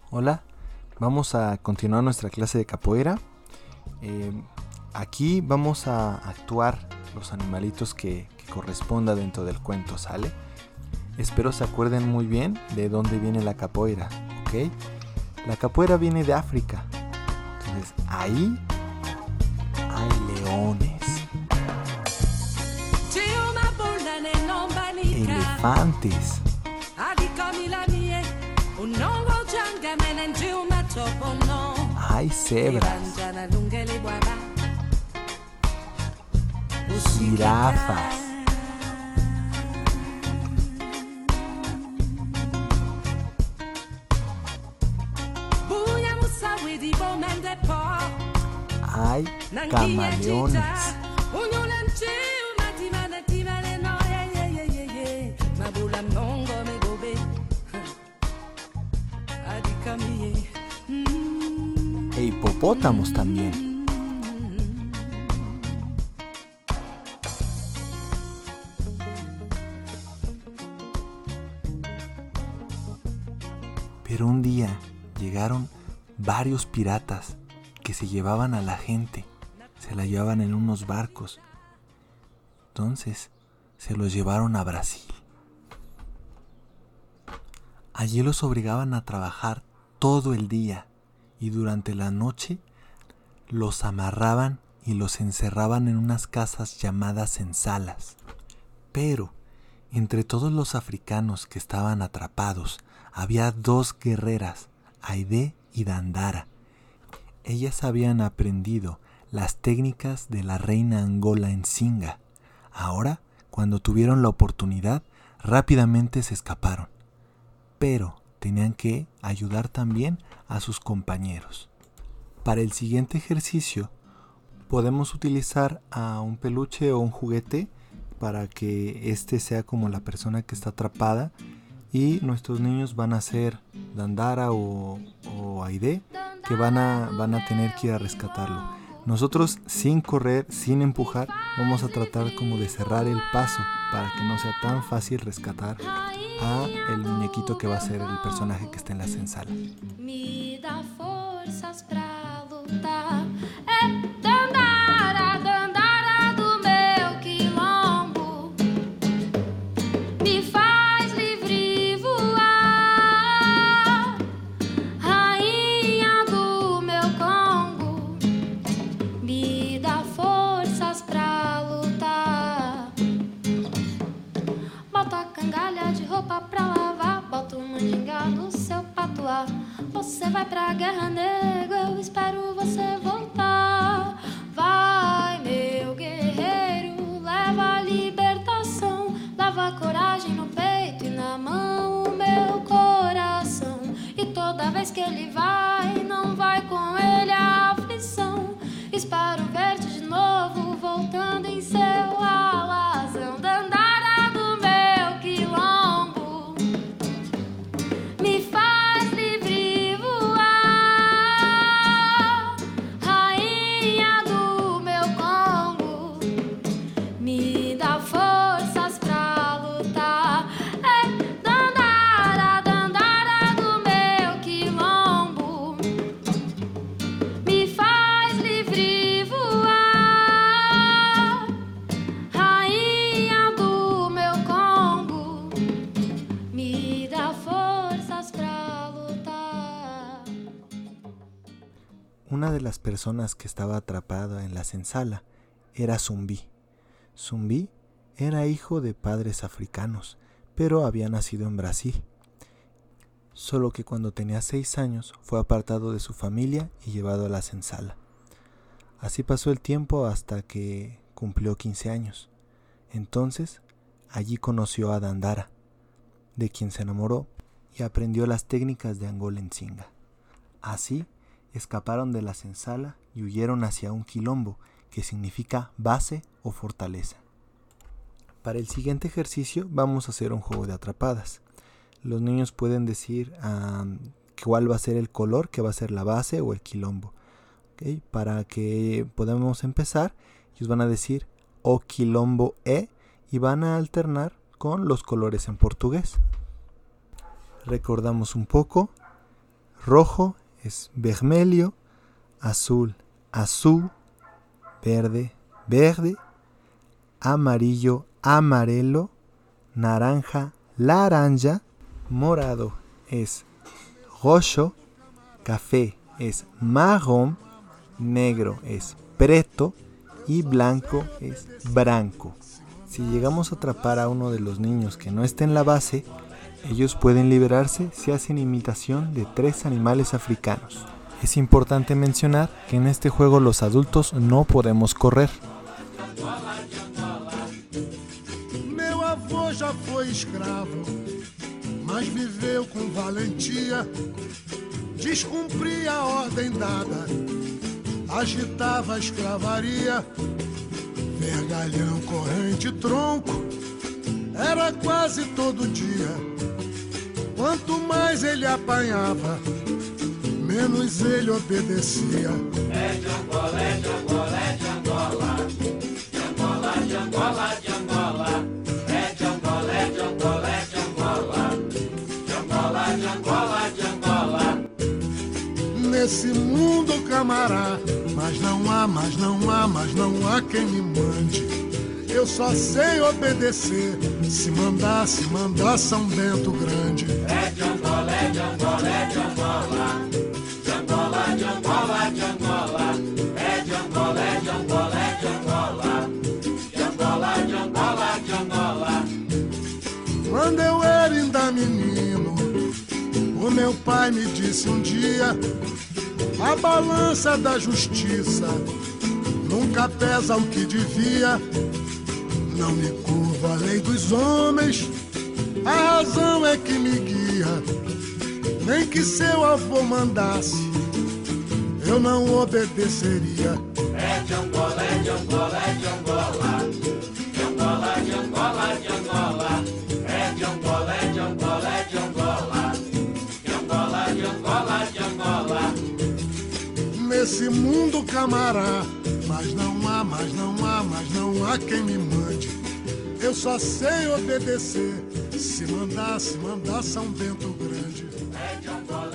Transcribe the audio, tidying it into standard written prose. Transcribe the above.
Hola, vamos a continuar nuestra clase de capoeira. Aquí vamos a actuar los animalitos que corresponda dentro del cuento, ¿sale? Espero se acuerden muy bien de dónde viene la capoeira, ¿ok? La capoeira viene de África. Entonces, ahí hay leones, elefantes, hay cebras, jirafas, hay camaleones, e hipopótamos también. Pero un día llegaron varios piratas que se llevaban a la gente, se la llevaban en unos barcos. Entonces se los llevaron a Brasil. Allí los obligaban a trabajar todo el día y durante la noche los amarraban y los encerraban en unas casas llamadas senzalas. Pero entre todos los africanos que estaban atrapados había dos guerreras, Aide y Dandara. Ellas habían aprendido las técnicas de la reina Angola Nzinga. Ahora, cuando tuvieron la oportunidad, rápidamente se escaparon. Pero tenían que ayudar también a sus compañeros. Para el siguiente ejercicio, podemos utilizar a un peluche o un juguete para que este sea como la persona que está atrapada. Y nuestros niños van a ser Dandara o Aide, que van a tener que ir a rescatarlo. Nosotros, sin correr, sin empujar, vamos a tratar como de cerrar el paso para que no sea tan fácil rescatar a el muñequito que va a ser el personaje que está en la senzala. Me dá forças pra lutar. Você vai pra guerra, nego, eu espero você voltar. Vai, meu guerreiro, leva a libertação, leva a coragem no peito e na mão o meu coração. E toda vez que ele vai, não vai com ele a aflição. Espero ver-te de novo, voltando em seu alazão. Dandara do meu quilombo, me faz Una de las personas que estaba atrapada en la senzala era Zumbi. Zumbi era hijo de padres africanos, pero había nacido en Brasil. Solo que cuando tenía 6 años fue apartado de su familia y llevado a la senzala. Así pasó el tiempo hasta que cumplió 15 años. Entonces, allí conoció a Dandara, de quien se enamoró y aprendió las técnicas de Angola Nzinga. Así, escaparon de la senzala y huyeron hacia un quilombo, que significa base o fortaleza. Para el siguiente ejercicio vamos a hacer un juego de atrapadas. Los niños pueden decir cuál va a ser el color que va a ser la base o el quilombo. ¿Okay? Para que podamos empezar, ellos van a decir o quilombo e y van a alternar con los colores en portugués. Recordamos un poco. Rojo es vermelho, azul, azul, verde, verde, amarillo, amarelo, naranja, laranja, morado es roxo, café es marrón, negro es preto y blanco es branco. Si llegamos a atrapar a uno de los niños que no esté en la base, ellos pueden liberarse si hacen imitación de 3 animales africanos. Es importante mencionar que en este juego los adultos no podemos correr. Meu avô já foi escravo, mas viveu com valentia. Descumpria a ordem dada, agitava a escravaria. Vergalhão, corrente, tronco, era quase todo dia. Quanto mais ele apanhava, menos ele obedecia. É de Angola, é de Angola, é de Angola. De Angola, de Angola, de Angola. É de Angola, é de Angola, é de Angola. De Angola, de Angola, de Angola. Nesse mundo, camará, mas não há, mas não há, mas não há quem me mande. Eu só sei obedecer, se mandar São Bento Grande. É de Angola, é de Angola, é de Angola. De Angola, de Angola, de Angola. É de Angola, é de Angola, é de Angola. De Angola, de Angola, de Angola. Quando eu era ainda menino, o meu pai me disse um dia: a balança da justiça nunca pesa o que devia. Não me curvo a lei dos homens, a razão é que me guia. Nem que seu avô mandasse, eu não obedeceria. É de Angola, é de Angola, é de Angola. De Angola, de Angola, de Angola. É de Angola, é de Angola, é de Angola. De Angola, de Angola, de Angola. Nesse mundo, camará, mas não há, mas não há, mas não há quem me mande. Eu só sei obedecer, se mandar São Bento Grande. É de Angola.